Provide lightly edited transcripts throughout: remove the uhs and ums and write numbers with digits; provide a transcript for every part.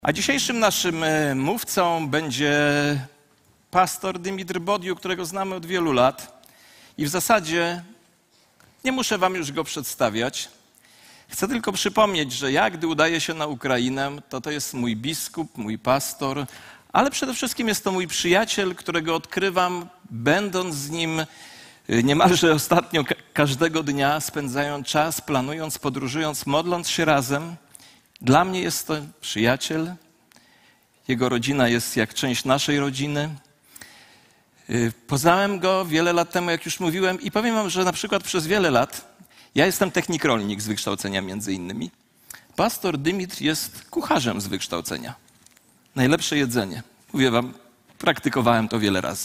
A dzisiejszym naszym mówcą będzie pastor Dymitr Bodiu, którego znamy od wielu lat. I w zasadzie nie muszę wam już go przedstawiać. Chcę tylko przypomnieć, że ja, gdy udaję się na Ukrainę, to jest mój biskup, mój pastor, ale przede wszystkim jest to mój przyjaciel, którego odkrywam, będąc z nim niemalże ostatnio każdego dnia, spędzając czas, planując, podróżując, modląc się razem. Dla mnie jest to przyjaciel. Jego rodzina jest jak część naszej rodziny. Poznałem go wiele lat temu, jak już mówiłem, i powiem wam, że na przykład przez wiele lat, ja jestem technik rolnik z wykształcenia między innymi, pastor Dymitr jest kucharzem z wykształcenia. Najlepsze jedzenie. Mówię wam, praktykowałem to wiele razy.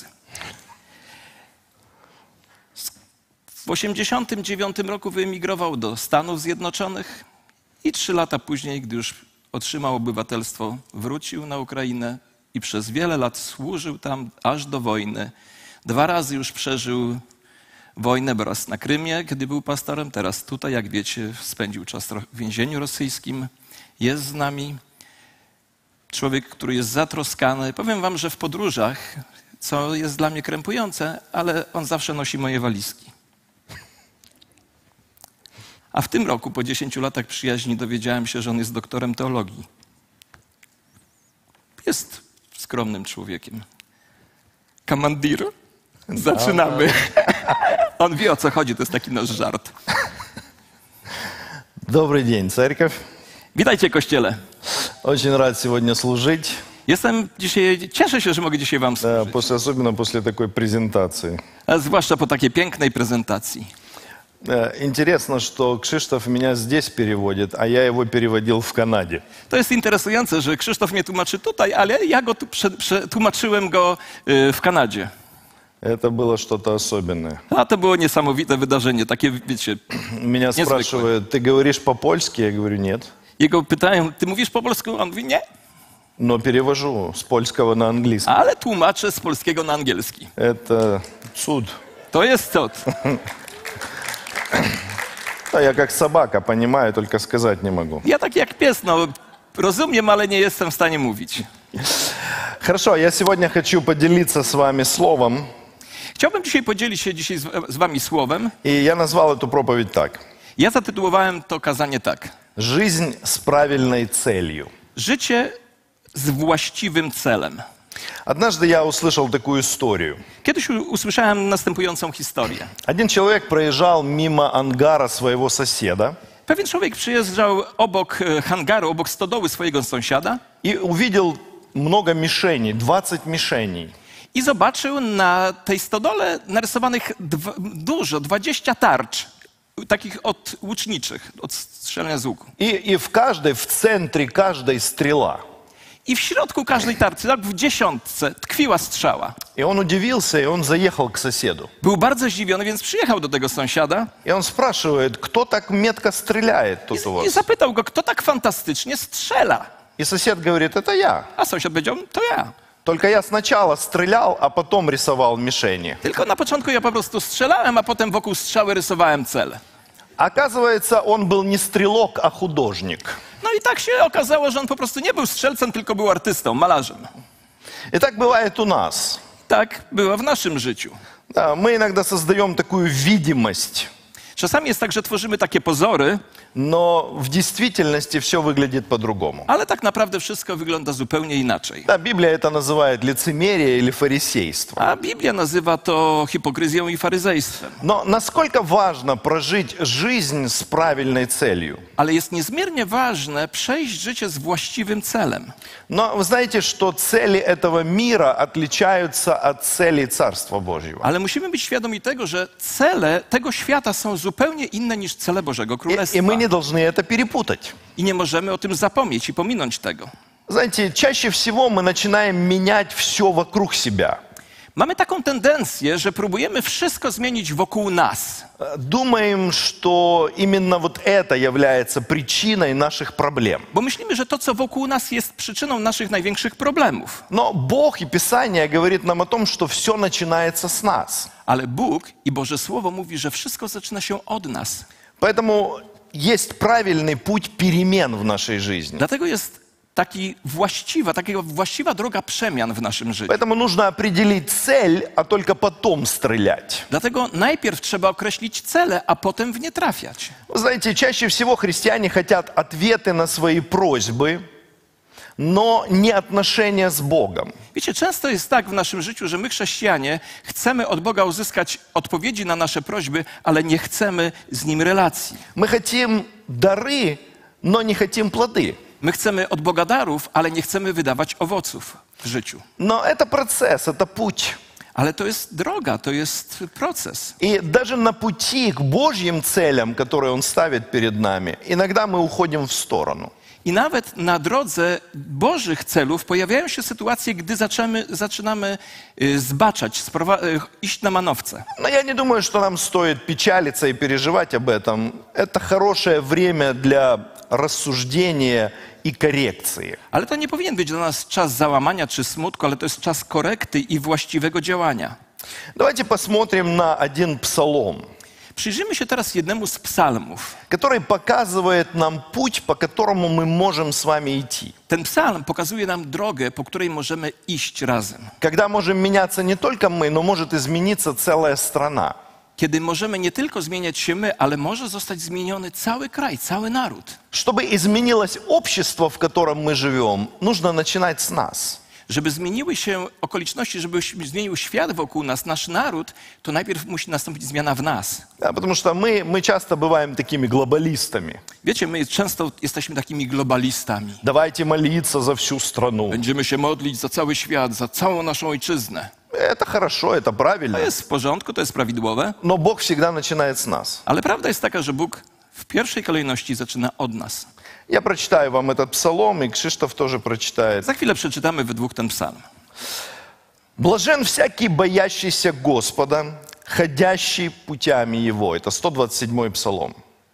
W 1989 roku wyemigrował do Stanów Zjednoczonych i 3 lata później, gdy już otrzymał obywatelstwo, wrócił na Ukrainę i przez wiele lat służył tam aż do wojny. 2 razy już przeżył wojnę, bo raz na Krymie, kiedy był pastorem, teraz tutaj, jak wiecie, spędził czas w więzieniu rosyjskim. Jest z nami człowiek, który jest zatroskany. Powiem wam, że w podróżach, co jest dla mnie krępujące, ale on zawsze nosi moje walizki. A w tym roku, po 10 latach przyjaźni, dowiedziałem się, że on jest doktorem teologii. Jest skromnym człowiekiem. Kamandir? Zaczynamy. On wie, o co chodzi, to jest taki nasz żart. Добрый день, церковь. Witajcie, Kościele. Очень рад сегодня служить, Cieszę się, że mogę dzisiaj wam służyć. особенно после такой презентации. A zwłaszcza po takiej pięknej prezentacji. Интересно, что Кшиштоф меня здесь переводит, а я его переводил в Канаде. To jest interesujące, że Krzysztof mnie tłumaczy tutaj, ale ja go tłumaczyłem go w Kanadzie. Это было что-то особенное. A to było niesamowite wydarzenie, takie, wiecie, Меня niezwykłe. спрашивают, ты говоришь по-польски? Я говорю, нет. Jego pytają, ty mówisz po polsku? On mówi, nie, Но перевожу с польского на английский. ale tłumaczę z polskiego na angielski. Это цуд. To jest cud. Да, я как собака, понимаю, только сказать не могу. Ja tak jak pies, no, rozumiem, ale nie jestem w stanie mówić. Хорошо, я сегодня хочу поделиться с вами словом. Chciałbym dzisiaj podzielić się z wami słowem. И я назвал эту проповедь так. Ja zatytułowałem to kazanie tak. Жизнь с правильной целью. Życie z właściwym celem. Однажды я услышал такую историю. Kiedyś usłyszałem następującą historię. Один человек проезжал мимо ангара своего соседа Pewien człowiek przyjeżdżał obok hangaru, obok stodoły swojego sąsiada и увидел много мишеней, 20 мишеней. i zobaczył na tej stodole narysowanych dużo, 20 tarcz, takich łuczniczych, od strzelania z łuku. И в центре каждой стрела. I w środku każdej tarczy, tak w 10, tkwiła strzała. И он удивился, и он заехал к соседу. Był bardzo zdziwiony, więc przyjechał do tego sąsiada И он спрашивает, кто так метко стреляет тут у i вас? zapytał go, kto tak fantastycznie strzela. И сосед говорит, это я. A sąsiad powiedział, to ja. Только я сначала стрелял, а потом рисовал мишени. Tylko na początku ja po prostu strzelałem, a potem wokół strzały rysowałem cel. Оказывается, он был не стрелок, а художник. No i tak się okazało, że on po prostu nie był strzelcem, tylko był artystą, malarzem. И так бывает у нас. Tak było w naszym życiu. Да, мы иногда создаем такую видимость, Czasami jest tak, że tworzymy takie pozory, но в действительности все выглядит по-другому. ale tak naprawdę wszystko wygląda zupełnie inaczej. Да, Библия это называет лицемерие или фарисейство. A Biblia nazywa to hipokryzją i faryzejstwem. Но насколько важно прожить жизнь с правильной целью? Ale jest niezmiernie ważne przejść życie z właściwym celem. Но вы знаете, что цели этого мира отличаются от целей Царства Божьего. Ale musimy być świadomi tego, że cele tego świata są zupełnie inne niż cele Bożego Królestwa. И мы не должны это перепутать. I nie możemy o tym zapomnieć i pominąć tego. Знаете, чаще всего мы начинаем менять все вокруг себя. Mamy taką tendencję, że próbujemy wszystko zmienić wokół nas. Думаем, что именно вот это является причиной наших проблем. Bo myślimy, że to, co wokół nas, jest przyczyną naszych największych problemów. Но Бог и Писание говорит нам о том, что все начинается с нас. Ale Bóg i Boże Słowo mówi, że wszystko zaczyna się od nas. Поэтому есть правильный путь перемен в нашей жизни. Dlatego jest taka właściwa droga przemian w naszym życiu. Поэтому нужно определить цель, а только потом стрелять. Dlatego najpierw trzeba określić cele, a potem w nie trafiać. Вы знаете, чаще всего христиане хотят ответы на свои просьбы, но не отношения с Богом. Wiecie, często jest tak w naszym życiu, że my chrześcijanie chcemy od Boga uzyskać odpowiedzi na nasze prośby, ale nie chcemy z Nim relacji. Мы хотим дары, но не хотим плоды. My chcemy od Boga darów, ale nie chcemy wydawać owoców w życiu. Но это процесс, это путь. Ale to jest droga, to jest proces. И даже на пути к Божьим целям, которые Он ставит перед нами, иногда мы уходим в сторону. I nawet na drodze Bożych celów pojawiają się sytuacje, gdy zaczynamy zbaczać, iść na manowce. Но я не думаю, что нам стоит печалиться и переживать об этом. Это хорошее время для рассуждения и коррекции. Ale to nie powinien być dla nas czas załamania czy smutku, ale to jest czas korekty i właściwego działania. Давайте посмотрим на один псалом, Przyjrzyjmy się teraz jednemu z psalmów. который показывает нам путь, по которому мы можем с вами идти. Ten psalm pokazuje nam drogę, po której możemy iść razem. Когда можем меняться не только мы, но может измениться целая страна. Kiedy możemy nie tylko zmieniać się my, ale może zostać zmieniony cały kraj, cały naród. Чтобы изменилось общество, в котором мы живем, нужно начинать с нас. Żeby zmieniły się okoliczności, żeby zmienił świat wokół nas, nasz naród, to najpierw musi nastąpić zmiana w nas. Да, потому что мы часто бываем такими глобалистами. Wiecie, my często jesteśmy takimi globalistami. Давайте молиться за всю страну. Będziemy się modlić za cały świat, za całą naszą ojczyznę. Это хорошо, это правильно. To jest w porządku, to jest prawidłowe, Но Бог всегда начинает с нас. ale prawda jest taka, że Bóg w pierwszej kolejności zaczyna od nas. Я прочитаю вам этот псалом, и Кшиштоф тоже прочитает. Za chwilę przeczytamy we dwóch ten psalm. «Блажен всякий, боящийся Господа, ходящий путями Его». Это 127-й псалом.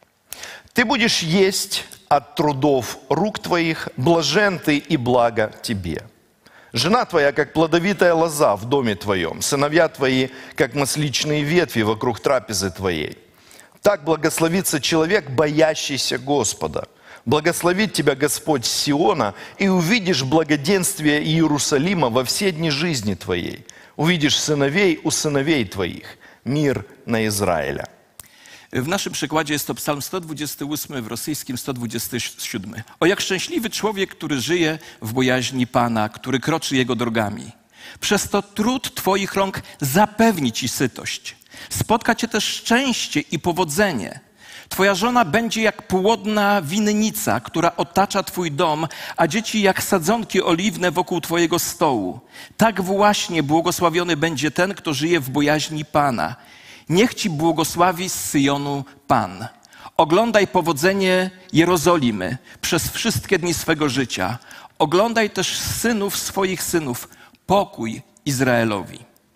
«Ты будешь есть от трудов рук твоих, блажен ты и благо тебе. Жена твоя, как плодовитая лоза в доме твоем, сыновья твои, как масличные ветви вокруг трапезы твоей. Так благословится человек, боящийся Господа. Благословит тебя Господь с Сиона, и увидишь благоденствие Иерусалима во все дни жизни твоей. Увидишь сыновей у сыновей твоих. Мир на Израиля». W naszym przykładzie jest to psalm 128, w rosyjskim 127. O jak szczęśliwy człowiek, który żyje w bojaźni Pana, który kroczy Jego drogami. Przez to trud Twoich rąk zapewni Ci sytość. Spotka Cię też szczęście i powodzenie. Twoja żona będzie jak płodna winnica, która otacza Twój dom, a dzieci jak sadzonki oliwne wokół Twojego stołu. Tak właśnie błogosławiony będzie ten, kto żyje w bojaźni Pana. Niech Ci błogosławi z Syjonu Pan. Oglądaj powodzenie Jerozolimy przez wszystkie dni swego życia. Oglądaj też synów swoich synów. Pokój Izraelowi.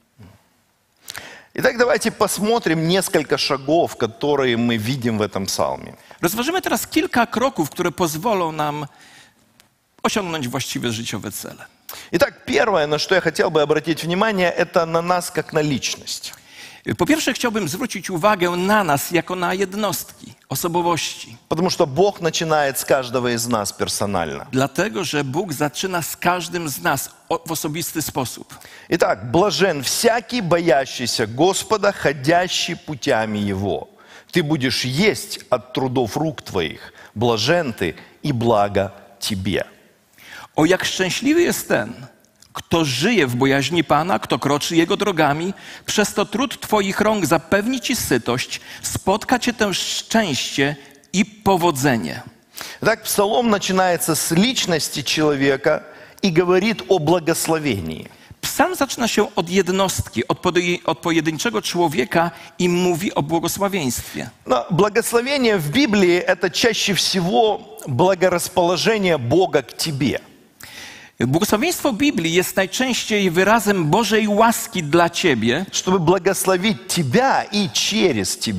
Итак, давайте посмотрим несколько шагов, которые мы видим в этом псалме. Rozważymy teraz kilka kroków, które pozwolą nam osiągnąć właściwe życiowe cele. Итак, первое, на что я хотел бы обратить внимание, это на нас как на личность. Po pierwsze chciałbym zwrócić uwagę na nas jako na jednostki, osobowości. Потому что Бог начинает с каждого из нас персонально. Dlatego, że Bóg zaczyna z każdym z nas w osobisty sposób. Итак, блажен всякий, боящийся Господа, ходящий путями Его. Ты будешь есть от трудов рук твоих. Блажен ты и благо тебе. O jak szczęśliwy jest ten, kto żyje w bojaźni Pana, kto kroczy Jego drogami, przez to trud Twoich rąk zapewni Ci sytość, spotka Cię też szczęście i powodzenie. Итак, псалом начинается с личности человека и говорит о благословении. Psalm zaczyna się od jednostki, od pojedynczego człowieka i mówi o błogosławieństwie. Но благословение в Библии – это чаще всего благорасположение Бога к тебе. Błogosławieństwo Biblii jest najczęściej wyrazem Bożej łaski dla ciebie, Чтобы благословить тебя и через тебя.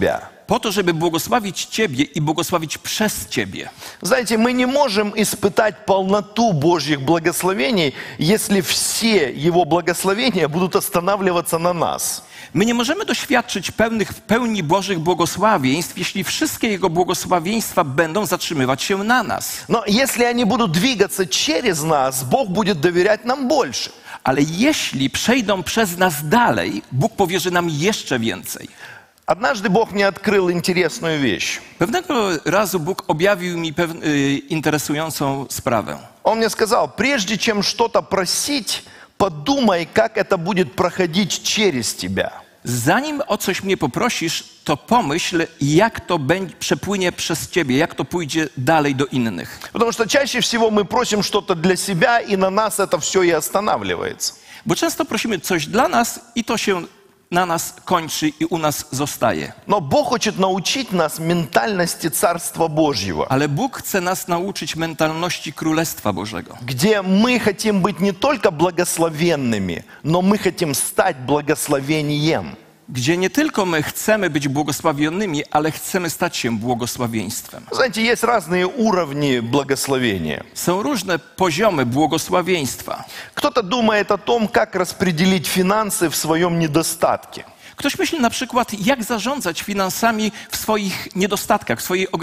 po to, żeby błogosławić Ciebie i błogosławić przez Ciebie. Знаете, мы не можем испытать полноту Божьих благословений, если все Его благословения будут останавливаться на нас. My nie możemy doświadczyć pełni Bożych błogosławieństw, jeśli wszystkie Jego błogosławieństwa będą zatrzymywać się na nas. Но если они будут двигаться через нас, Бог будет доверять нам больше. Ale jeśli przejdą przez nas dalej, Bóg powierzy nam jeszcze więcej. Однажды Бог мне открыл интересную вещь. Pewnego razu Bóg objawił mi interesującą sprawę. Он мне сказал, прежде чем что-то просить, подумай, как это будет проходить через тебя. Zanim o coś mnie poprosisz, to pomyśl, jak to przepłynie przez Ciebie, jak to pójdzie dalej do innych. Потому что чаще всего мы просим что-то для себя, и на нас это все и останавливается. Bo często prosimy coś dla nas i to się na nas kończy i u nas zostaje. Но Бог хочет научить нас ментальности Царства Божьего, Ale Bóg chce nas nauczyć mentalności Królestwa Bożego, где мы хотим быть не только благословенными, но мы хотим стать благословением. gdzie nie tylko my chcemy być błogosławionymi, ale chcemy stać się błogosławieństwem. Знаете, есть разные уровни благословения. Są różne poziomy błogosławieństwa. Кто-то думает о том, как распределить финансы в своем недостатке. Ktoś myśli na przykład, jak zarządzać finansami w swoich niedostatkach,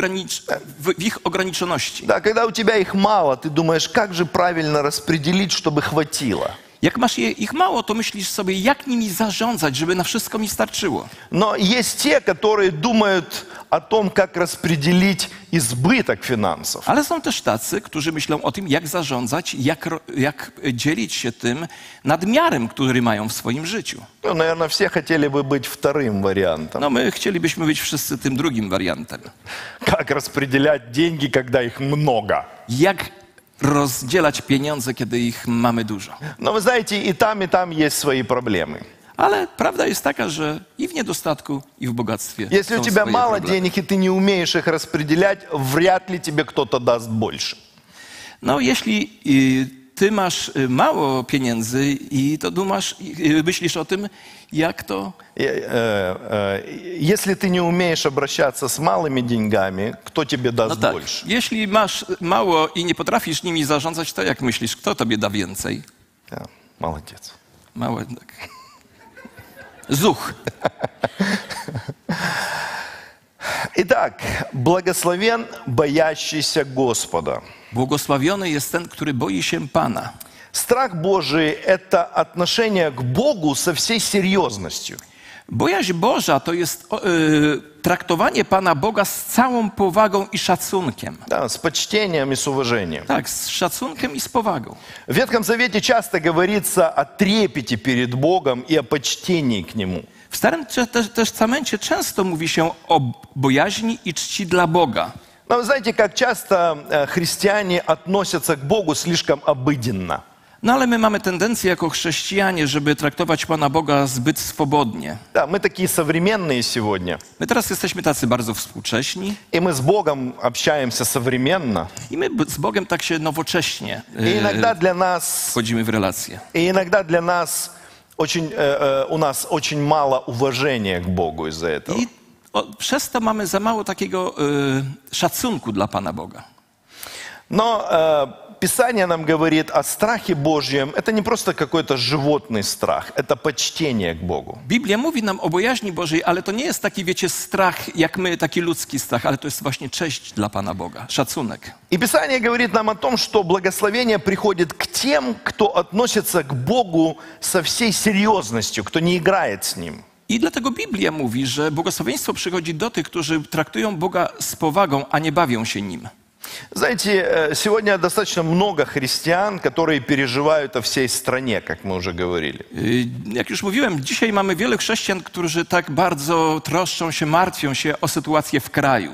w ich ograniczoności. Да, когда у тебя их мало, ты думаешь, как же правильно распределить, чтобы хватило. Jak masz ich mało, to myślisz sobie, jak nimi zarządzać, żeby na wszystko mi starczyło. Но есть те, которые думают о том, как распределить избыток финансов. Ale są też tacy, którzy myślą o tym, jak zarządzać, jak dzielić się tym nadmiarem, który mają w swoim życiu. Ну, наверное, все хотели бы быть вторым вариантом. No my chcielibyśmy być wszyscy tym drugim wariantem. Как распределять деньги, когда их много. Jak rozdzielać pieniądze, kiedy ich mamy dużo. Но вы знаете, и там есть свои проблемы. Ale prawda jest taka, że i w niedostatku, i w bogactwie Если są у тебя swoje мало problemy. денег, и ты не умеешь их распределять, вряд ли тебе кто-то даст больше. No jeśli ty masz mało pieniędzy i to myślisz o tym, jak to... Если ты не умеешь обращаться с малыми деньгами, кто тебе No даст tak, больше? jeśli masz mało i nie potrafisz nimi zarządzać, to jak myślisz, kto tobie da więcej? Да, молодец. Małe, tak. Zuch. Итак, благословен боящийся Господа. Błogosławiony jest ten, który boi się Pana. Страх Божий – это отношение к Богу со всей серьезностью. Bojaźń Boża to jest traktowanie Pana Boga z całą powagą i szacunkiem. Да, с почтением и с уважением. Tak, z szacunkiem i z powagą. В Ветхом Завете часто говорится о трепете перед Богом и о почтении к Нему. W Starym Testamencie często mówi się o bojaźni i czci dla Boga. Но вы знаете, как часто христиане относятся к Богу слишком обыденно. No ale my mamy tendencję jako chrześcijanie, żeby traktować Pana Boga zbyt swobodnie. Да, мы такие современные сегодня. My teraz jesteśmy tacy bardzo współcześni И мы с Богом общаемся современно. i my z Bogiem tak się nowocześnie И иногда для нас, wchodzimy w relacje. у нас очень мало уважения к Богу из-за этого. I przez to mamy za mało takiego szacunku dla Pana Boga. Но Писание нам говорит о страхе Божьем. Это не просто какой-то животный страх, это почтение к Богу. Biblia mówi nam o bojaźni Bożej, ale to nie jest taki, wiecie, strach jak my, taki ludzki strach, ale to jest właśnie cześć dla Pana Boga, szacunek. И Писание говорит нам о том, что благословение приходит к тем, кто относится к Богу со всей серьезностью, кто не играет с Ним. I dlatego Biblia mówi, że błogosławieństwo przychodzi do tych, którzy traktują Boga z powagą, a nie bawią się Nim. Знаете, сегодня достаточно много христиан, которые переживают о всей стране, как мы уже говорили. Jak już mówiłem, dzisiaj mamy wielu chrześcijan, którzy tak bardzo troszczą się, martwią się o sytuację w kraju.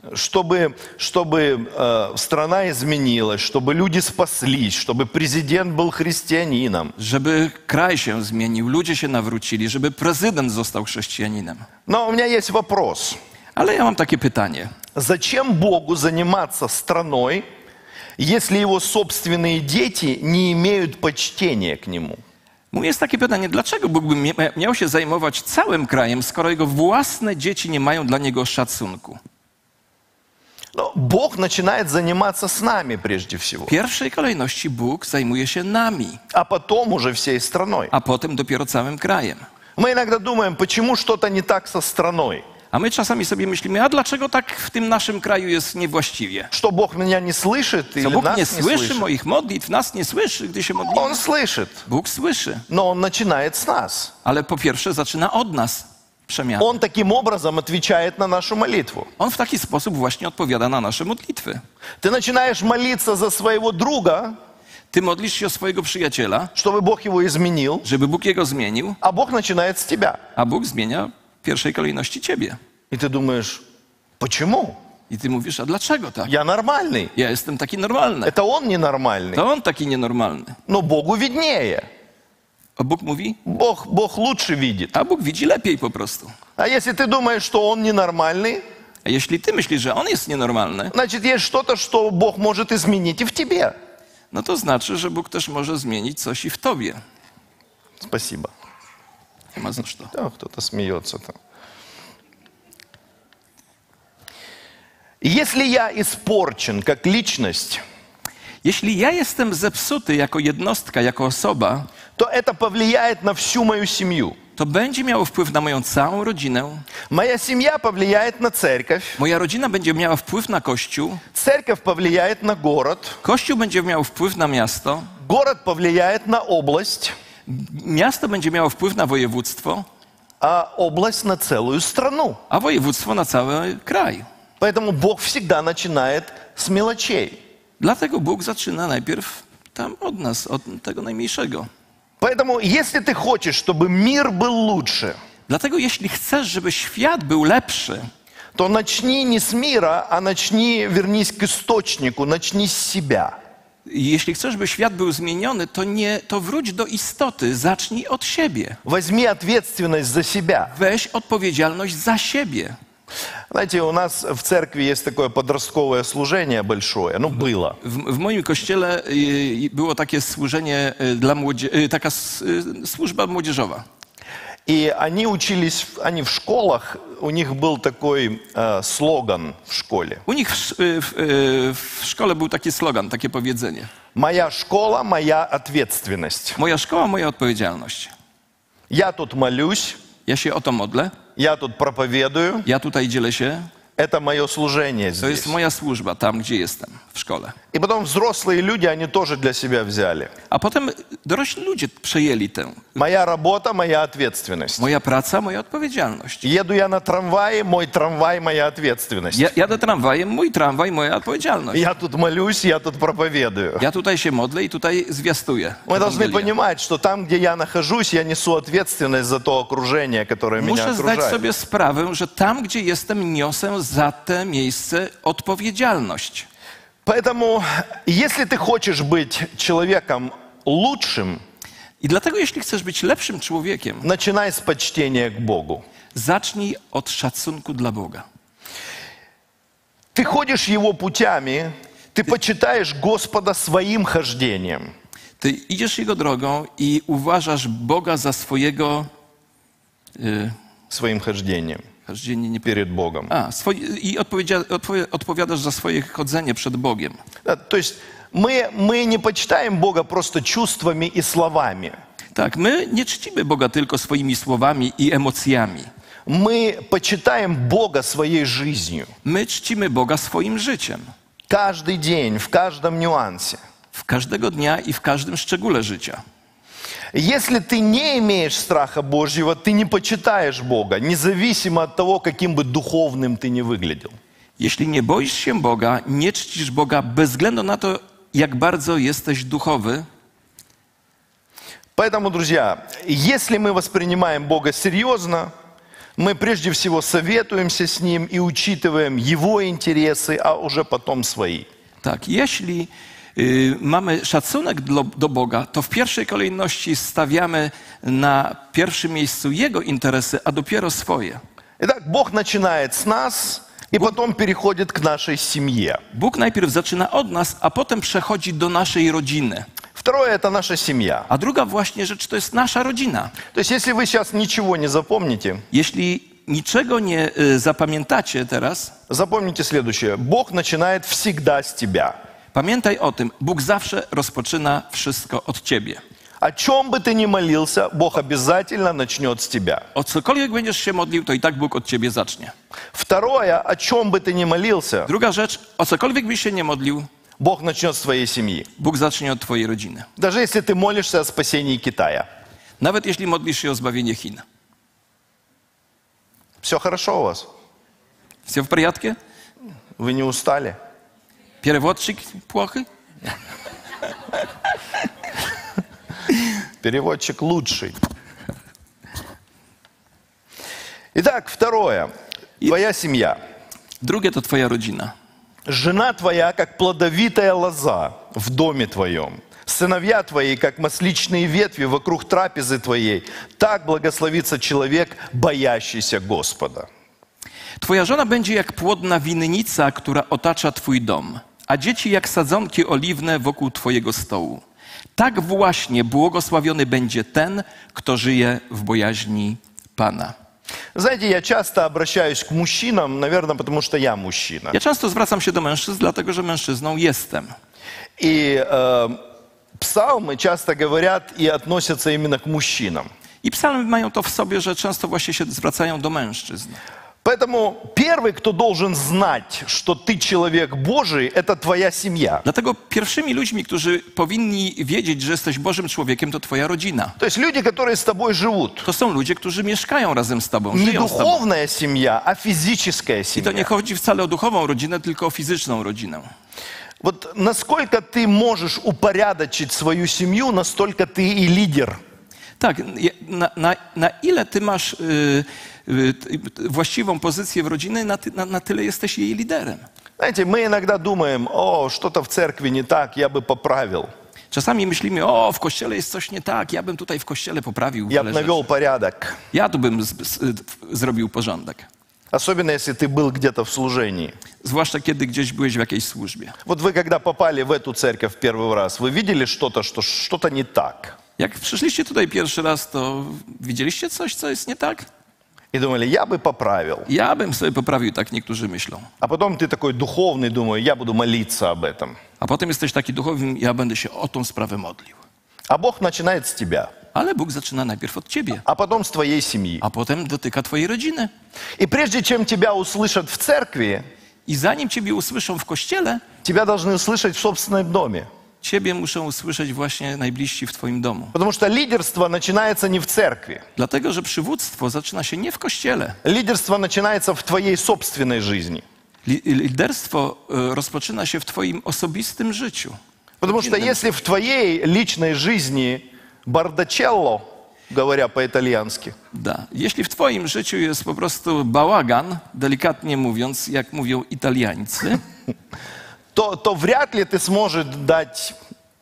Чтобы страна изменилась, чтобы люди спаслись, чтобы президент был христианином. Żeby kraj się zmienił, ludzie się nawrócili, żeby prezydent został chrześcijaninem. Но у меня есть вопрос. Ale ja mam takie pytanie. Зачем Богу заниматься страной, если его собственные дети не имеют почтения к Нему? Jest takie pytanie, dlaczego Bóg by miał się zajmować całym krajem, skoro jego własne dzieci nie mają dla niego szacunku? Но Бог начинает заниматься с нами прежде всего, W pierwszej kolejności Bóg zajmuje się nami, а потом уже всей страной. a potem dopiero całym krajem. Мы иногда думаем, почему что-то не так со страной, A my czasami sobie myślimy, a dlaczego tak w tym naszym kraju jest niewłaściwie? что Бог меня не слышит Co или Bóg нас nie не słyszy слышит. moich modlitw, nas nie słyszy, gdy się modlimy. Он слышит, Bóg słyszy, но Он начинает с нас. ale po pierwsze zaczyna od nas przemianę. Он таким образом отвечает на нашу молитву. On w taki sposób właśnie odpowiada na nasze modlitwy. Ты начинаешь молиться за своего друга, Ty modlisz się o swojego przyjaciela, чтобы Бог его изменил, żeby Bóg jego zmienił, а Бог начинает с тебя. a Bóg zmienia w pierwszej kolejności ciebie. И ты думаешь, почему? I ty mówisz, a dlaczego tak? Я нормальный. Ja jestem taki normalny. Это он ненормальный. To on taki nienormalny. Но Богу виднее. A Bóg mówi, Бог лучше видит. a Bóg widzi lepiej po prostu. А если ты думаешь, что он ненормальный, A jeśli ty myślisz, że on jest nienormalny, значит, есть что-то, что Бог может изменить и в тебе. no to znaczy, że Bóg też może zmienić coś i w tobie. Спасибо. Nie ma za co. Да, кто-то смеется там. Если я испорчен как личность, Jeśli ja jestem zepsuty jako jednostka, jako osoba, то это повлияет на всю мою семью. to będzie miało wpływ na moją całą rodzinę. Моя семья повлияет на церковь, Moja rodzina będzie miała wpływ na Kościół. церковь повлияет на город, Kościół będzie miał wpływ na miasto. город повлияет на область, Miasto będzie miało wpływ na województwo, а область на целую страну. a województwo na cały kraj. Поэтому Бог всегда начинает с мелочей. Dlatego Bóg zaczyna najpierw tam od nas, od tego najmniejszego. Поэтому, если ты хочешь, чтобы мир был лучше, Dlatego jeśli chcesz, żeby świat był lepszy, то начни не с мира, а начни, вернись к источнику, начни с себя. jeśli chcesz, żeby świat był zmieniony, to wróć do istoty, zacznij od siebie. Возьми ответственность за себя. Weź odpowiedzialność za siebie. Знаете, у нас в церкви есть такое подростковое служение большое, ну было. W moim kościele było takie służenie dla taka służba młodzieżowa. И они учились, они в школах, у них был такой слоган в школе. U nich w szkole był taki slogan, takie powiedzenie. «Моя школа, моя ответственность». Moja szkoła, moja odpowiedzialność. Я тут молюсь, Ja się o to modlę, я тут проповедую, ja tutaj dzielę się. это мое служение To здесь. jest moja służba tam, gdzie jestem, w szkole. И потом взрослые люди, они тоже для себя взяли. A potem dorośli ludzie przejęli tę. Моя работа, моя ответственность. Moja praca, moja odpowiedzialność. Еду я на трамвае, мой трамвай, моя ответственность. Jadę tramwajem, mój tramwaj, moja odpowiedzialność. Я тут молюсь, я тут проповедую. Ja tutaj się modlę i tutaj zwiastuję. Мы должны Ewangelię. понимать, что там, где я нахожусь, я несу ответственность за то окружение, которое меня Muszę zdać окружает. sobie sprawę, że tam, gdzie jestem, niosę za te miejsce odpowiedzialność. Поэтому, если ты хочешь быть человеком лучшим, I dlatego, jeśli chcesz być lepszym człowiekiem, начинай с почтения к Богу. zacznij od szacunku dla Boga. Ты ходишь Его путями, ты почитаешь Господа своим хождением. Ty idziesz Jego drogą i uważasz Boga za swojego... Своим хождением nie перед Богом. I odpowiadasz za swoje chodzenie przed Bogiem. Да, то есть мы не почитаем Бога просто чувствами и словами. Tak, my nie czcimy Boga tylko swoimi słowami i emocjami. Мы почитаем Бога своей жизнью. My czcimy Boga swoim życiem. Каждый день, в каждом нюансе. W każdego dnia i w każdym szczególe życia. Если ты не имеешь страха Божьего, ты не почитаешь Бога, независимо от того, каким бы духовным ты не выглядел. Jeśli nie boisz się Boga, nie czcisz Boga bez względu na to, jak bardzo jesteś duchowy. Поэтому, друзья, если мы воспринимаем Бога серьезно, мы прежде всего советуемся с Ним и учитываем Его интересы, а уже потом свои. Tak, jeśli mamy szacunek do Boga, to w pierwszej kolejności stawiamy na pierwszym miejscu Jego interesy, a dopiero swoje. Итак, Бог начинает с нас и потом переходит к нашей семье. Bóg najpierw zaczyna od nas, a potem przechodzi do naszej rodziny. В Второе – это наша семья. A druga właśnie rzecz to jest nasza rodzina. То есть, если вы сейчас ничего не запомните, Jeśli niczego nie zapamiętacie teraz, запомните следующее. Бог начинает всегда с тебя. pamiętaj o tym, Bóg zawsze rozpoczyna wszystko od ciebie. О чем бы ты ни молился, Бог обязательно начнет с тебя. O cokolwiek będziesz się modlił, to i tak Bóg od ciebie zacznie. Второе, о чем бы ты ни молился, Druga rzecz, o cokolwiek byś się nie modlił, Бог начнет с твоей семьи. Bóg zacznie od twojej rodziny. Даже если ты молишься о спасении Китая. Nawet jeśli modlisz się o zbawienie Chin. Все хорошо у вас? Все в порядке? Вы не устали? Переводчик плохой? Переводчик лучший. Итак, второе. Твоя семья. Drugie to twoja rodzina. Жена твоя, как плодовитая лоза в доме твоем. Сыновья твои, как масличные ветви вокруг трапезы твоей. Так благословится человек, боящийся Господа. Twoja żona będzie jak płodna winnica, która otacza twój dom, a dzieci jak sadzonki oliwne wokół twojego stołu. Tak właśnie błogosławiony będzie ten, kto żyje w bojaźni Pana. Знаете, я часто обращаюсь к мужчинам, наверное, потому что я мужчина. Ja często zwracam się do mężczyzn, dlatego że mężczyzną jestem. И псалмы часто говорят и относятся именно к мужчинам. I psalmy mają to w sobie, że często właśnie się zwracają do mężczyzn. Поэтому первый, кто должен знать, что ты человек Божий, это твоя семья. Dlatego pierwszymi ludźmi, którzy powinni wiedzieć, że jesteś Bożym człowiekiem, to twoja rodzina. То есть люди, которые с тобой живут. To są ludzie, którzy mieszkają razem z tobą, Не żyją z tobą. духовная семья, а физическая I to nie семья. chodzi wcale o duchową rodzinę, tylko o fizyczną rodzinę. Вот насколько ты можешь упорядочить свою семью, настолько ты и лидер. Tak, na ile ty masz właściwą pozycję w rodzinie, na tyle jesteś jej liderem. Знаете, мы иногда думаем, о, что-то в церкви не так, я бы поправил. Czasami myślimy, o, w kościele jest coś nie tak, ja bym tutaj w kościele poprawił Я бы wiele навел rzeczy. порядок. Ja tu bym zrobił porządek. Особенно, если ты был где-то в служении. Zwłaszcza kiedy gdzieś byłeś w jakiejś służbie. Вот вы, когда попали в эту церковь первый раз, вы видели что-то, что что-то не так? Jak przyszliście tutaj pierwszy raz, to widzieliście coś, co jest nie tak? И думали, я бы поправил. Ja bym sobie poprawił, tak niektórzy myślą. А потом ты такой духовный, думаю, я буду молиться об этом. A potem jesteś taki duchowym, ja będę się o tą sprawę modlił. А Бог начинает с тебя, Ale Bóg zaczyna najpierw od ciebie, а потом с твоей семьи. a potem dotyka twojej rodziny. И прежде чем тебя услышат в церкви, I zanim ciebie usłyszą w kościele, тебя должны услышать в собственном доме. ciebie muszą usłyszeć właśnie najbliżsi w twoim domu. Потому что лидерство начинается не в церкви. Dlatego, że przywództwo zaczyna się nie w kościele. Лидерство начинается в твоей собственной жизни. Liderstwo rozpoczyna się w twoim osobistym życiu. Потому что если в твоей личной жизни бардачелло, говоря по-итальянски, Da. Jeśli w twoim życiu jest po prostu bałagan, delikatnie mówiąc, jak mówią Italiańcy, то вряд ли ты сможешь дать...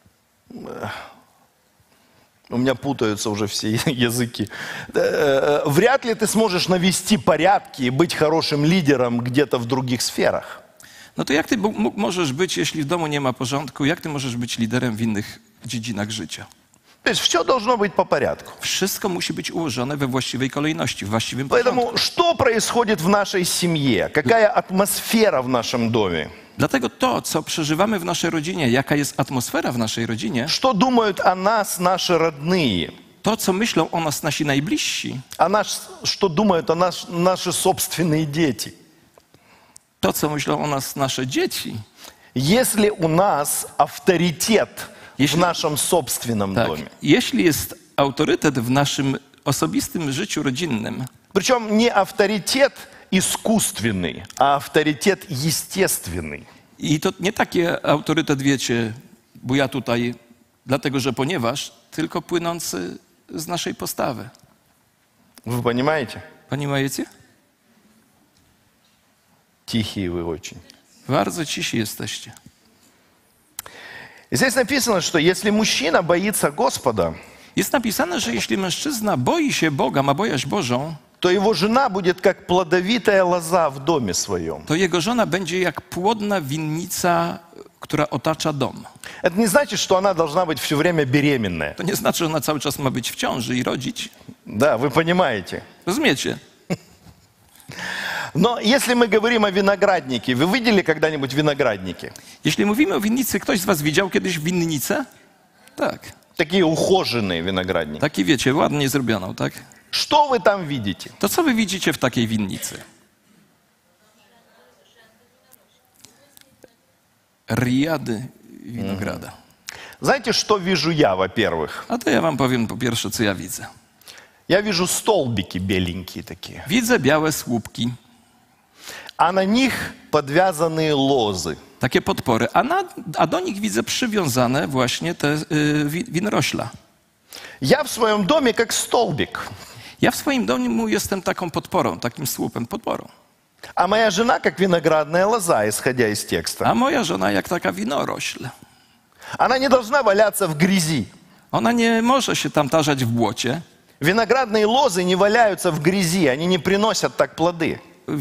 У меня путаются уже все языки. Вряд ли ты сможешь навести порядки и быть хорошим лидером где-то в других сферах. no to jak ty możesz być, jeśli w domu nie ma porządku, jak ty możesz być liderem w innych dziedzinach życia? То есть все должно быть по порядку. Wszystko musi być ułożone we właściwej kolejności, w właściwym porządku. Поэтому что происходит в нашей семье? Какая атмосфера в нашем доме? Dlatego to, co przeżywamy w naszej rodzinie, jaka jest atmosfera w naszej rodzinie, Что думают о нас наши родные? to, co myślą o nas nasi najbliżsi, Что думают о нас наши собственные дети? to, co myślą o nas nasze dzieci. Если у нас авторитет в нашем собственном Tak, доме, jeśli jest autorytet w naszym osobistym życiu rodzinnym, причем не авторитет искусственный, а авторитет естественный. i to nie takie autorytet, wiecie, bo ja tutaj, dlatego że ponieważ, tylko płynący z naszej postawy. Вы понимаете? Понимаете? Тихие вы очень. Bardzo cisi jesteście. И здесь написано, что если мужчина боится Господа, Jest napisane, że jeśli mężczyzna boi się Boga, ma bojaźń Bożą, то его жена будет как плодовитая лоза в доме своем. to jego żona będzie jak płodna winnica, która otacza dom. Это не значит, что она должна быть все время беременная. To nie znaczy, że ona cały czas ma być w ciąży i rodzić. Да, вы понимаете. Rozumiecie? Но если мы говорим о винограднике, вы видели когда-нибудь виноградники? Jeśli mówimy o winnicy, ktoś z was widział kiedyś winnicę? Tak. Такие ухоженные виноградники. Taki wiecie, ładnie zrobioną, tak? Что вы там видите? To co wy widzicie w takiej winnicy? Riady winograda. Знаете, что вижу я, во-первых? A to ja wam powiem po pierwsze, co ja widzę. Я вижу столбики беленькие такие, Widzę białe słupki, а на них подвязанные лозы. takie podpory, a do nich widzę przywiązane właśnie te winorośla. Я в своем доме как столбик, Ja w swoim domu jestem taką podporą, takim słupem, podporą. а моя жена как виноградная лоза, исходя из текста. A moja żona jak taka winorośl. Она не должна валяться в грязи. Ona nie może się tam tarzać w błocie. Winogрадные лозы не валяются в грязи, они не приносят так плоды.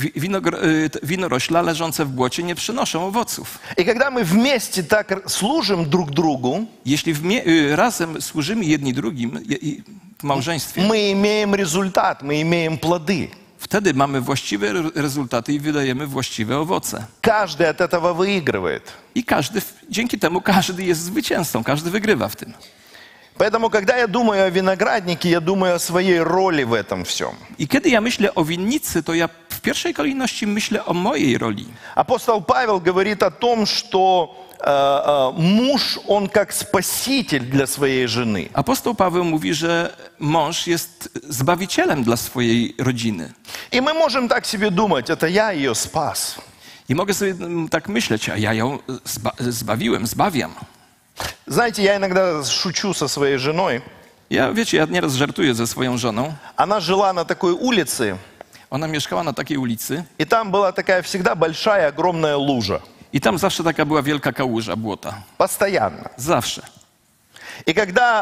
Winorośla leżące w błocie nie przynoszą owoców. И когда мы вместе так служим друг другу, Jeśli razem służymy jedni drugim w małżeństwie, мы имеем результат, мы имеем плоды. wtedy mamy właściwe rezultaty i wydajemy właściwe owoce. Каждый от этого выигрывает. I dzięki temu każdy jest zwycięzcą, każdy wygrywa w tym. Поэтому, когда я думаю о винограднике, я думаю о своей роли в этом всем. I kiedy ja myślę o winnicy, to ja w pierwszej kolejności myślę o mojej roli. Апостол Павел говорит о том, что муж, он как спаситель для своей жены. Apostoł Paweł mówi, że mąż jest zbawicielem dla swojej rodziny. И мы можем так себе думать, это я ее спас. I mogę sobie tak myśleć, a ja ją zbawiam. Знаете, я иногда шучу со своей женой. Wiecie, ja nieraz żartuję ze swoją żoną. Она жила на такой улице, Ona mieszkała na takiej ulicy и там была такая всегда большая, огромная лужа. i tam zawsze taka była wielka kałuża, błota. Постоянно. Zawsze. И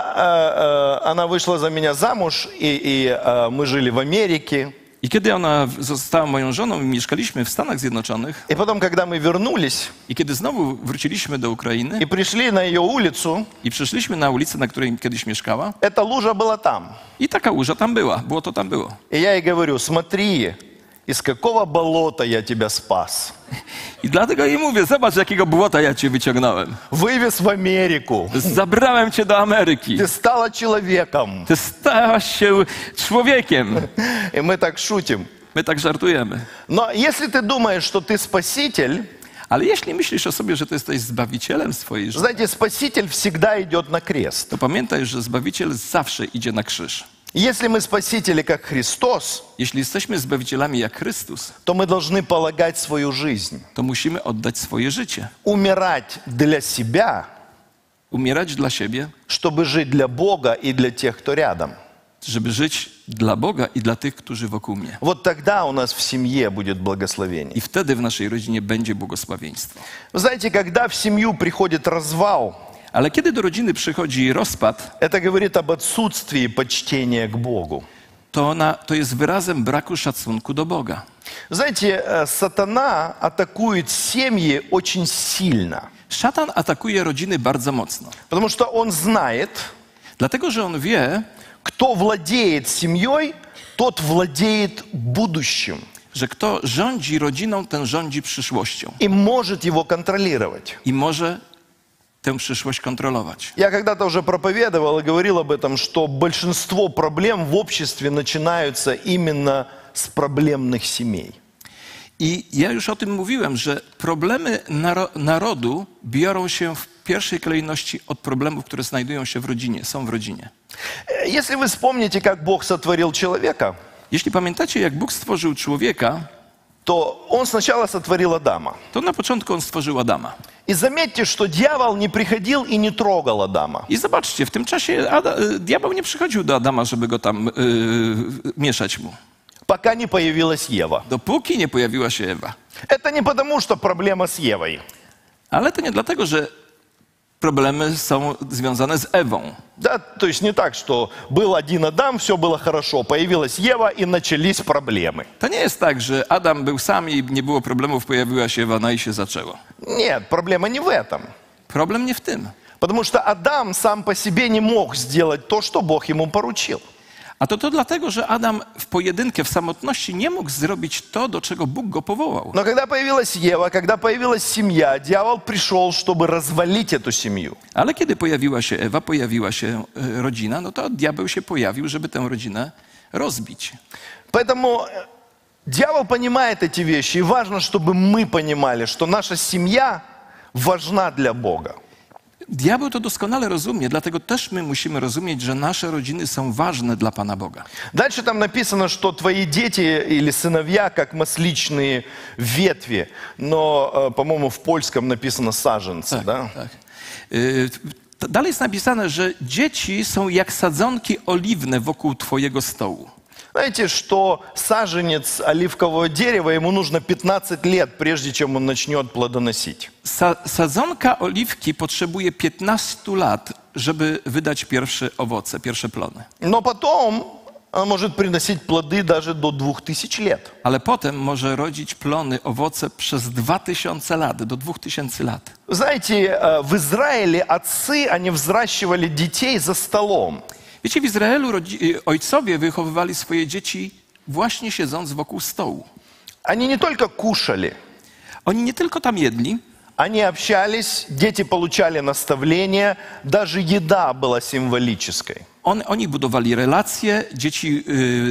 когда она вышла за меня замуж, и мы жили в Америке, I kiedy ona została moją żoną i mieszkaliśmy w Stanach Zjednoczonych и потом, когда мы вернулись i kiedy znowu wróciliśmy do Ukrainy и пришли на ее улицу, i przyszliśmy na ulicę, na której kiedyś mieszkała эта лужа была там. i ta kałuża tam była, błoto tam było. И я ей говорю, смотри, из какого болота я тебя спас. I dlatego jej mówię, zobacz jakiego błota ja cię wyciągnąłem. Wywез в Америку. Zabrałem cię do Ameryki. Ты стала человеком. Ty stałaś się człowiekiem. И мы так шутим. My tak żartujemy. Но если ты думаешь, что ты спаситель, Ale jeśli myślisz o sobie, że ty jesteś zbawicielem swojej życia, знаете, спаситель всегда идет на крест. to pamiętaj, że Zbawiciel zawsze idzie na krzyż. Если мы спасители, как Христос, Jeśli jesteśmy Zbawicielami jak Chrystus, то мы должны полагать свою жизнь, to musimy oddać swoje życie. умирать для себя, Umierać dla siebie, чтобы жить для Бога и для тех, кто рядом. żeby żyć dla Boga i dla tych, którzy wokół mnie. Вот тогда у нас в семье будет благословение. I wtedy w naszej rodzinie będzie błogosławieństwo. Вы знаете, когда в семью приходит развал, Ale kiedy do rodziny przychodzi rozpad, это говорит об отсутствии почтения к Богу. to jest wyrazem braku szacunku do Boga. Знаете, сатана атакует семьи очень сильно, Szatan atakuje rodziny bardzo mocno. потому что он знает, Dlatego, że on wie, кто владеет семьей, тот владеет будущим że kto rządzi rodziną, ten rządzi przyszłością. и может его контролировать. I może tę przyszłość kontrolować. Я когда-то уже проповедовал и говорил об этом, что большинство проблем в обществе начинаются именно с проблемных семей. I ja już o tym mówiłem, że problemy narodu biorą się w pierwszej kolejności od problemów, które znajdują się w rodzinie, są w rodzinie. Если вы вспомните, как Бог сотворил человека, Jeśli pamiętacie, jak Bóg stworzył człowieka, то Он сначала сотворил Адама. to na początku on stworzył Adama. И заметьте, что дьявол не приходил и не трогал Адама. I zobaczcie, w tym czasie diabeł nie przychodził do Adama, żeby go tam mieszać mu. Пока не появилась Ева. Dopóki nie pojawiła się Ewa. Это не потому, что проблема с Евой. Ale to nie dlatego, że problemy są związane z Ewą. Да, то есть не так, что был один Адам, все было хорошо, появилась Ева и начались проблемы. To nie jest tak, że Adam był sam i nie było problemów, pojawiła się Ewa, no i się zaczęło. Нет, проблема не в этом. Problem nie w tym. Потому что Адам сам по себе не мог сделать то, что Бог ему поручил. A to dlatego, że Adam w pojedynkę, w samotności nie mógł zrobić to, do czego Bóg go powołał. Но когда появилась Ева, когда появилась семья, дьявол пришел, чтобы развалить эту семью. Ale kiedy pojawiła się Ewa, pojawiła się rodzina, no to diabeł się pojawił, żeby tę rodzinę rozbić. Поэтому дьявол понимает эти вещи, и важно, чтобы мы понимали, что наша семья важна для Бога. Diabeł to doskonale rozumie, dlatego też my musimy rozumieć, że nasze rodziny są ważne dla Pana Boga. Dальше там написано, что твои дети или сыновья, как масличные ветви, но, по-моему, в польском написано саженцы, да? Tak. Dalej jest napisane, że dzieci są jak sadzonki oliwne wokół Twojego stołu. Знаете, что саженец оливкового дерева, ему нужно 15 лет, прежде чем он начнет плодоносить. Sadzonka oliwki potrzebuje 15 lat, żeby wydać pierwsze owoce, pierwsze plony. Но потом он может приносить плоды даже до 2000 лет. Ale potem może rodzić plony, owoce przez 2000 lat, do 2000 lat. Знаете, в Израиле отцы, они взращивали детей за столом. Wiecie, w Izraelu ojcowie wychowywali swoje dzieci właśnie siedząc wokół stołu. Они не только кушали, Oni nie tylko tam jedli, они общались, дети получали наставления, даже еда была символической. oni budowali relacje, dzieci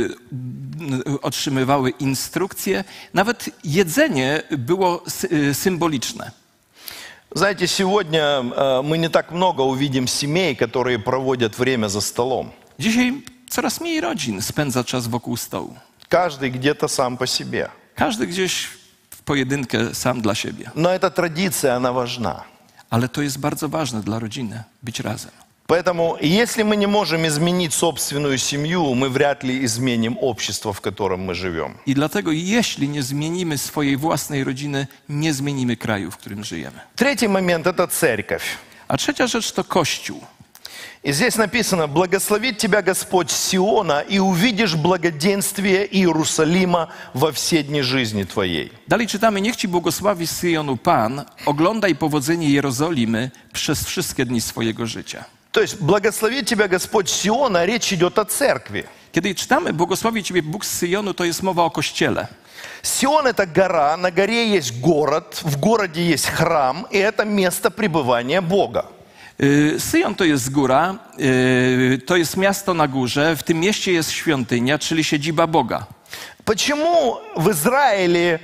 otrzymywały instrukcje, nawet jedzenie było symboliczne. Знаете, сегодня мы не так много увидим семей, которые проводят время за столом. Dzisiaj coraz mniej rodzin spędza czas wokół stołu. Каждый где-то сам по себе. Każdy gdzieś w pojedynkę sam dla siebie. Но эта традиция, она важна. Ale to jest bardzo ważne dla rodziny, być razem. Поэтому, если мы не можем изменить собственную семью, мы вряд ли изменим общество, в котором мы живем. I dlatego jeśli nie zmienimy swojej własnej rodziny, nie zmienimy kraju, w którym żyjemy. Третий момент – это церковь. A trzecia rzecz to Kościół. И здесь написано: «Благословит тебя Господь с Сиона, и увидишь благоденствие Иерусалима во все дни жизни твоей». Dalej czytamy, niech Ci błogosławi z Syjonu Pan, oglądaj powodzenie Jerozolimy przez wszystkie dni swojego życia. То есть благословит тебя Господь с Сиона, речь идет о церкви. Kiedy czytamy, błogosławi Ciebie Bóg z Syjonu, to jest mowa o Kościele. Сион – это гора, на горе есть город, в городе есть храм, и это место пребывания Бога. Syjon to jest góra, to jest miasto na górze, w tym mieście jest świątynia, czyli siedziba Boga. Почему в Израиле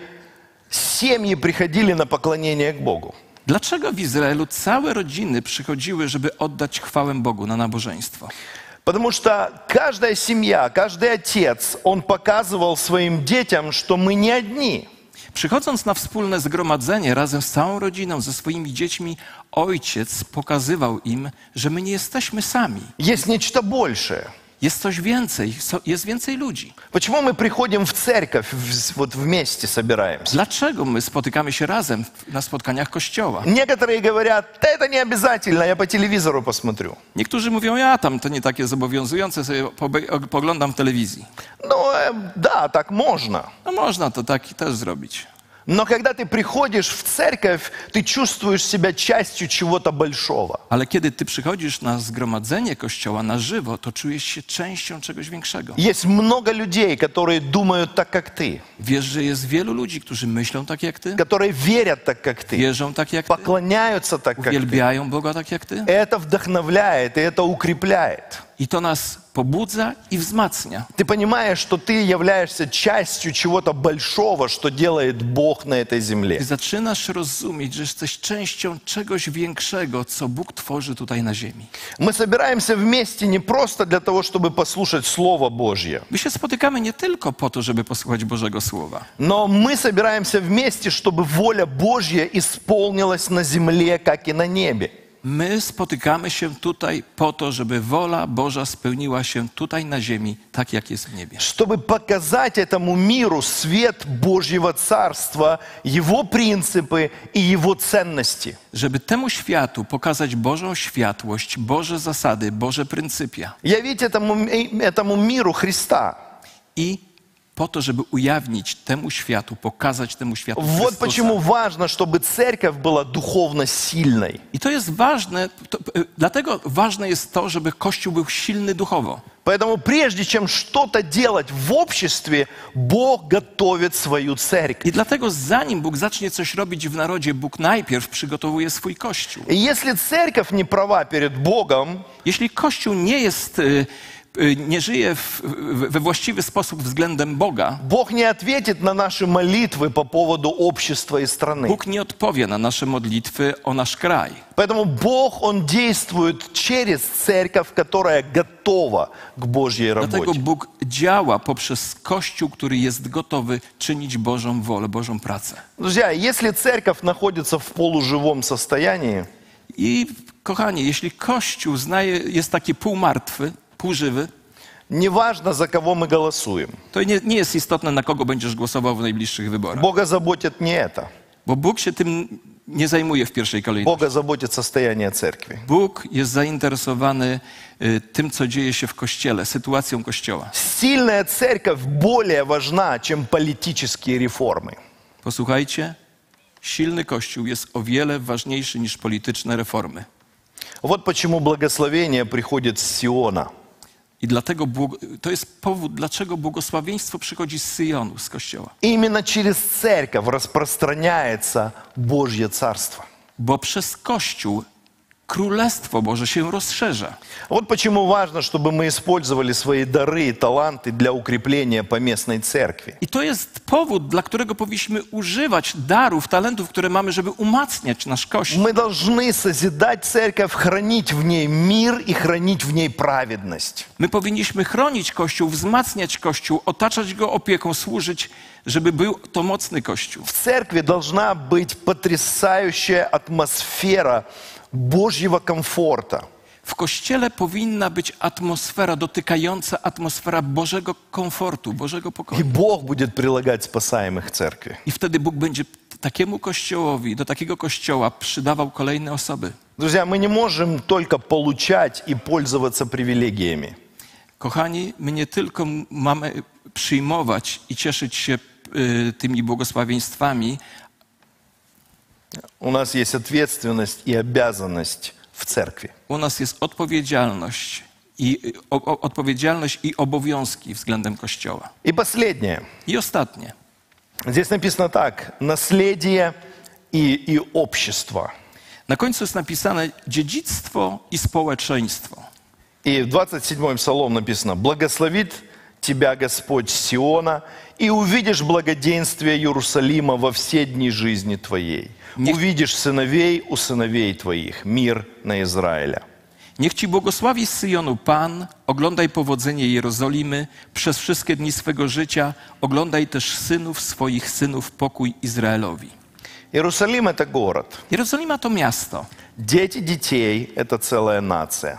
семьи приходили на поклонение к Богу? Dlaczego w Izraelu całe rodziny przychodziły, żeby oddać chwałę Bogu na nabożeństwo? Потому что каждая семья, каждый отец, он показывал своим детям, что мы не одни. Przychodząc na wspólne zgromadzenie razem z całą rodziną, ze swoimi dziećmi, ojciec pokazywał im, że my nie jesteśmy sami. Есть нечто большее. Jest coś więcej, jest więcej ludzi. Почему мы приходим в церковь, вот вместе собираемся? Dlaczego my spotykamy się razem na spotkaniach Kościoła? Некоторые говорят: да это не обязательно, я по телевизору посмотрю. Niektórzy mówią, ja tam to nie takie zobowiązujące, sobie poglądam w telewizji. Ну, да, так можно. No można to tak też zrobić. Но когда ты приходишь в церковь, ты чувствуешь себя частью чего-то большого. Ale kiedy ty przychodzisz na zgromadzenie Kościoła na żywo, to czujesz się częścią czegoś większego. Есть много людей, которые думают так, как ты. Wiesz, że jest wielu ludzi, którzy myślą tak jak ty, Которые верят так, как ты. wierzą tak jak ty, Поклоняются так, как ты. uwielbiają Boga tak jak ty. Это вдохновляет, и это укрепляет. I to nas pobudza i wzmacnia. Ты понимаешь, что ты являешься частью чего-то большого, что делает Бог на этой земле. Ty zaczynasz rozumieć, że jesteś częścią czegoś większego, co Bóg tworzy tutaj na ziemi. Мы собираемся вместе не просто для того, чтобы послушать Слово Божье, My się spotykamy nie tylko po to, żeby posłuchać Bożego Słowa, но мы собираемся вместе, чтобы воля Божья исполнилась на земле, как и на небе. My spotykamy się tutaj po to, żeby wola Boża spełniła się tutaj na ziemi, tak jak jest w niebie. Чтобы показать этому миру свет Божьего Царства, Его принципы и Его ценности. Żeby temu światu pokazać Bożą światłość, Boże zasady, Boże pryncypia. Явить этому миру Христа. I po to, żeby ujawnić temu światu, pokazać temu światu Вот Chrystusa. почему важно, чтобы церковь была духовно сильной. I to jest ważne, dlatego ważne jest to, żeby Kościół był silny duchowo. Поэтому прежде чем что-то делать в обществе, Бог готовит свою церковь. I dlatego zanim Bóg zacznie coś robić w narodzie, Bóg najpierw przygotowuje swój Kościół. И если церковь не права перед Богом, Jeśli Kościół nie żyje we właściwy sposób względem Boga, Бог не ответит на наши молитвы по поводу общества и страны. Bóg nie odpowie na nasze modlitwy o nasz kraj. Поэтому Бог, Он действует через церковь, которая готова к Божьей Dlatego работе. Bóg działa poprzez Kościół, który jest gotowy czynić Bożą wolę, Bożą pracę. Друзья, если церковь находится в полуживом состоянии, I kochani, jeśli Kościół jest taki półmartwy, półżywy, неважно, за кого мы голосуем. to nie jest istotne, na kogo będziesz głosował w najbliższych wyborach. Бога заботит не это. Bo Bóg się tym nie zajmuje w pierwszej kolejności. Бога заботит состояние церкви. Bóg jest zainteresowany tym, co dzieje się w Kościele, sytuacją Kościoła. Сильная церковь более важна, чем политические реформы. Posłuchajcie, silny Kościół jest o wiele ważniejszy niż polityczne reformy. Вот почему благословение приходит с Сиона. I dlatego to jest powód, dlaczego błogosławieństwo przychodzi z Syjonu, z Kościoła. Именно через церковь распространяется Божье Царство. Bo przez Kościół Królestwo Boże się rozszerza. Вот почему важно, чтобы мы использовали свои дары и таланты для укрепления поместной церкви. I to jest powód, dla którego powinniśmy używać darów, talentów, które mamy, żeby umacniać nasz Kościół. Мы должны созидать церковь, хранить в ней мир и хранить в ней праведность. My powinniśmy chronić Kościół, wzmacniać Kościół, otaczać go opieką, służyć, żeby był to mocny Kościół. В церкви должна быть потрясающая атмосфера Божьего комфорта. W Kościele powinna być atmosfera dotykająca atmosfera Bożego komfortu, Bożego И pokoju. Бог будет прилагать спасаемых церкви. I wtedy Bóg będzie takiemu Kościołowi, do takiego Kościoła przydawał kolejne osoby. Друзья, мы не можем только получать и пользоваться привилегиями. Kochani, my nie tylko mamy przyjmować i cieszyć się tymi błogosławieństwami, У нас есть ответственность и обязанность в церкви. u nas jest odpowiedzialność i obowiązki względem Kościoła. И последнее. I ostatnie. Здесь написано так. Наследие и общество. Na końcu jest napisane dziedzictwo i społeczeństwo. И в 27-м Псалом написано: «Благословит тебя Господь с Сиона, и увидишь благоденствие Иерусалима во все дни жизни твоей. Увидишь сыновей у сыновей твоих, мир на Израиля». Niech Ci błogosławi z Syjonu Pan, oglądaj powodzenie Jerozolimy przez wszystkie dni swego życia, oglądaj też synów swoich synów, pokój Izraelowi. Иерусалим – это город. Jerozolima to miasto. Дети детей – это целая нация.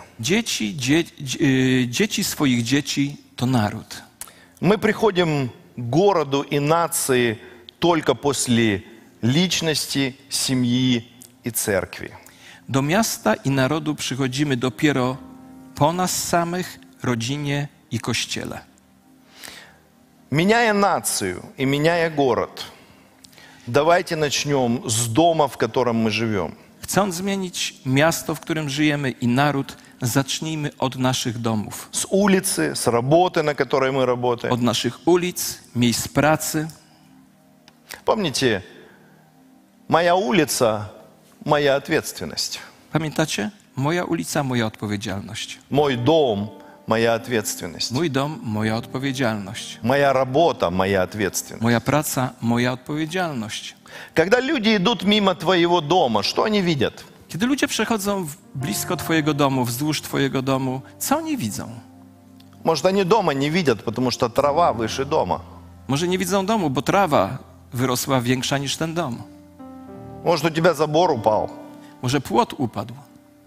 Dzieci swoich dzieci to naród. Мы приходим к городу и нации только после личности, семьи и церкви. Do miasta i narodu przychodzimy dopiero po nas samych, rodzinie i Kościele. Меняя нацию и меняя город, давайте начнем с дома, в котором мы живем. Chcąc zmienić miasto, w którym żyjemy i naród, zacznijmy od naszych domów. С улицы, с работы, на которой мы работаем. Od naszych ulic, miejsc pracy. Помните, моя улица – моя ответственность. Pamiętacie? Moja ulica, moja odpowiedzialność. Мой дом – моя ответственность. Mój dom, moja odpowiedzialność. Моя работа – моя ответственность. Moja praca, moja odpowiedzialność. Когда люди идут мимо твоего дома, что они видят? Kiedy ludzie przechodzą blisko Twojego domu, wzdłuż Twojego domu, co oni widzą? Может, они дома не видят, потому что трава выше дома. Może nie widzą domu, bo trawa wyrosła większa niż ten dom. Может, у тебя забор упал. Może płot upadł.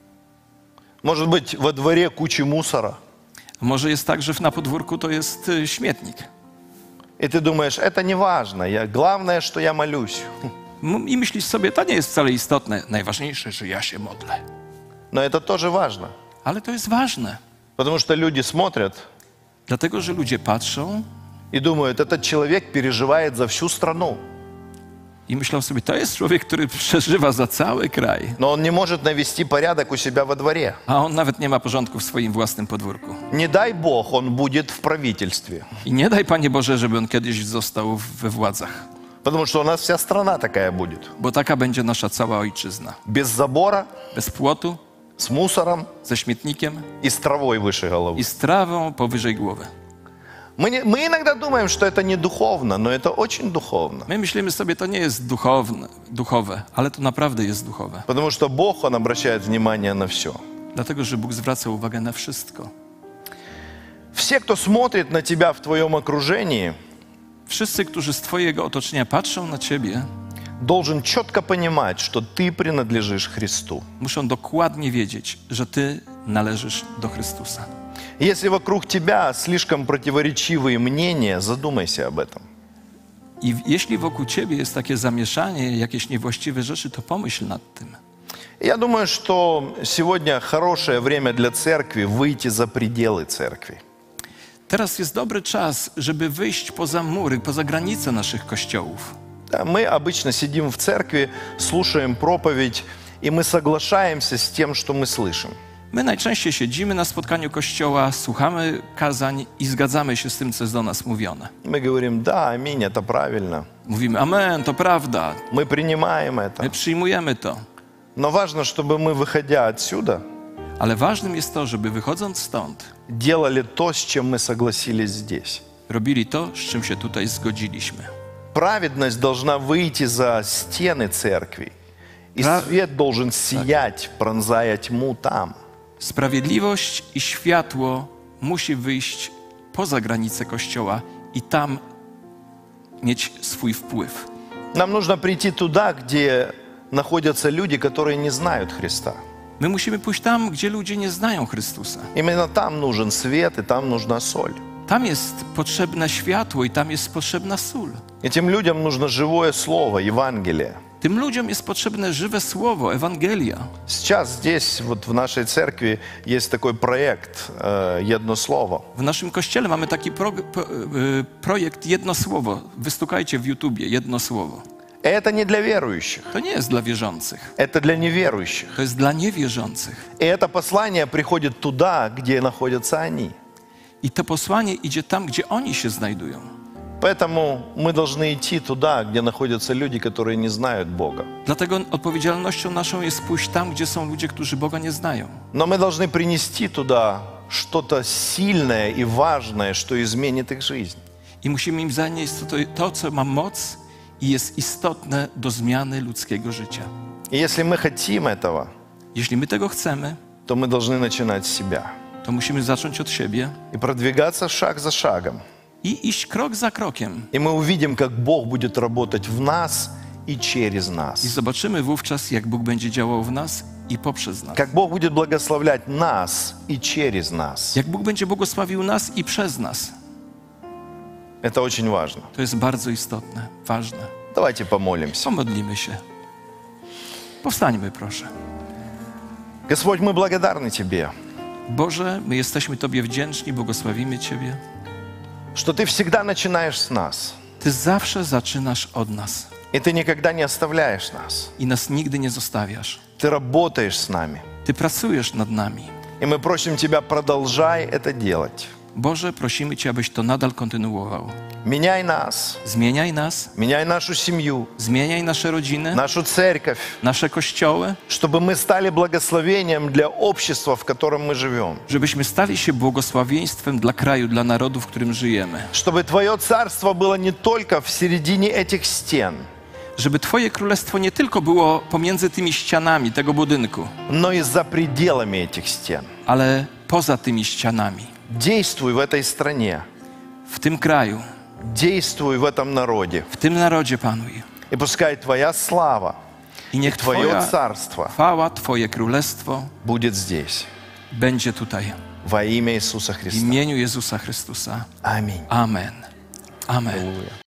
Может быть, во дворе куча мусора. Może jest tak, że na podwórku to jest śmietnik. И ты думаешь, это не важно. Главное, что я молюсь. I myślisz sobie, to nie jest wcale istotne. Najważniejsze, że ja się modlę. Но это тоже важно. Ale to jest ważne. Потому что люди смотрят Dlatego, że ludzie patrzą и думают, этот человек переживает за всю страну. i myślą sobie, to jest człowiek, który przeżywa za cały kraj. Но он не может навести порядок у себя во дворе. A on nawet nie ma porządku w swoim własnym podwórku. Не дай Бог, он будет в правительстве. I nie daj, Panie Boże, żeby on kiedyś został we władzach. Потому что у нас вся страна такая будет. Bo taka będzie nasza cała ojczyzna. Без забора, Bez płotu, с мусором ze śmietnikiem и с травой выше головы. i z trawą powyżej głowy. Мы иногда думаем, что это не духовно, но это очень духовно. My myślimy sobie, to nie jest duchowe, ale to naprawdę jest duchowe. Потому что Бог, Он обращает внимание на все. Dlatego, że Bóg zwraca uwagę na wszystko. Все, кто смотрит на тебя в твоем окружении, Wszyscy, którzy z Twojego otoczenia patrzą na Ciebie, должен четко понимать, что ты принадлежишь Христу. muszą dokładnie wiedzieć, że Ty należysz do Chrystusa. Если вокруг тебя слишком противоречивые мнения, задумайся об этом. I jeśli wokół Ciebie jest takie zamieszanie, jakieś niewłaściwe rzeczy, to pomyśl nad tym. Я думаю, что сегодня хорошее время для церкви выйти за пределы церкви. Teraz jest dobry czas, żeby wyjść poza mury, poza granice naszych kościołów. Да, мы обычно сидим в церкви, слушаем проповедь, и мы соглашаемся с тем, что мы слышим. My najczęściej siedzimy na spotkaniu kościoła, słuchamy kazań i zgadzamy się z tym, co jest do nas mówione. Мы говорим, да, аминь, это правильно. Mówimy, amen, to prawda, Мы принимаем это. my przyjmujemy to. Но важно, чтобы мы, выходя отсюда, Ale ważnym jest to, żeby wychodząc stąd, делали то, с чем мы согласились здесь. robili to, z czym się tutaj zgodziliśmy. Праведность должна выйти за стены церкви. И свет должен сиять, пронзая тьму там. Sprawiedliwość i światło musi wyjść poza granice kościoła i tam mieć swój wpływ. Нам нужно прийти туда, где находятся люди, которые не знают Христа. My musimy pójść tam, gdzie ludzie nie znają Chrystusa. Именно там нужен свет, и там нужна соль. Tam jest potrzebne światło i tam jest potrzebna sól. Этим людям нужно живое слово, Евангелие. Tym ludziom jest potrzebne żywe słowo, Ewangelia. Сейчас здесь, вот в нашей церкви, есть такой проект «Jedno слово». W naszym kościele mamy taki projekt Jedno Słowo. Wystukajcie w YouTubie Jedno Słowo. Это не для верующих, To nie jest dla wierzących, это для неверующих. to jest dla niewierzących. И это послание приходит туда, где находятся они. I to posłanie idzie tam, gdzie oni się znajdują. Поэтому мы должны идти туда, где находятся люди, которые не знают Бога. Dlatego odpowiedzialnością naszą jest pójść tam, gdzie są ludzie, którzy Boga nie znają. Но мы должны принести туда что-то сильное и важное, что изменит их жизнь. I musimy im zanieść to, co ma moc i jest istotne do zmiany ludzkiego życia. И если мы хотим этого, Jeśli my tego chcemy, то мы должны начинать с себя to musimy zacząć od siebie и продвигаться шаг за шагом. i iść krok za krokiem. И мы увидим, как Бог будет работать в нас и через I нас. zobaczymy wówczas, jak Bóg będzie działał w nas i poprzez nas. Как Бог будет благословлять нас и через нас. Jak Bóg będzie błogosławił nas i przez nas. Это очень важно. To jest bardzo istotne, ważne. Давайте помолимся. Pomodlimy się. Powstańmy, proszę. Господь, мы благодарны Тебе, Boże, my jesteśmy Tobie wdzięczni, błogosławimy Ciebie. что Ты всегда начинаешь с нас. Ty zawsze zaczynasz od nas И Ты никогда не оставляешь нас. i nas nigdy nie zostawiasz. Ты работаешь с нами. Ty pracujesz nad nami. И мы просим Тебя, продолжай это делать. Boże, prosimy Cię, abyś to nadal kontynuował. Меняй нас, Zmieniaj nas, меняй нашу семью, zmieniaj nasze rodziny, нашу церковь, nasze kościoły, чтобы мы стали благословением для общества, в котором мы живем. żebyśmy stali się błogosławieństwem dla kraju, dla narodu, w którym żyjemy. Чтобы Твое царство было не только в середине этих стен, Żeby Twoje królestwo nie tylko było pomiędzy tymi ścianami tego budynku, но и за пределами этих стен. ale poza tymi ścianami. Действуй в этой стране, W tym kraju, действуй в этом народе. w tym narodzie panuj. И пускай Твоя слава, I niech Твое Twoja царство chwała, Twoje królestwo будет здесь. będzie tutaj. во имя Иисуса W Христа. imieniu Jezusa Chrystusa. Аминь. Amen. Amen. Аллилуйя.